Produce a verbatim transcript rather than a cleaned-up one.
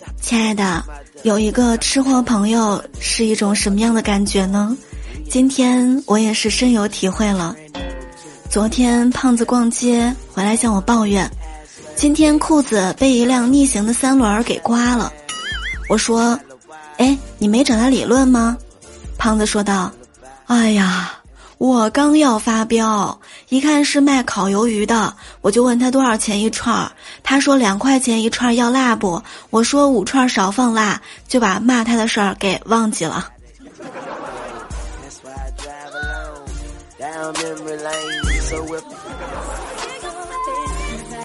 亲爱的，有一个吃货朋友是一种什么样的感觉呢？今天我也是深有体会了。昨天胖子逛街回来向我抱怨，今天裤子被一辆逆行的三轮给刮了。我说，哎，你没找他理论吗？胖子说道，哎呀，我刚要发飙，一看是卖烤鱿鱼的，我就问他多少钱一串，他说两块钱一串，要辣不？我说五串少放辣，就把骂他的事儿给忘记了。Down memory lane, so if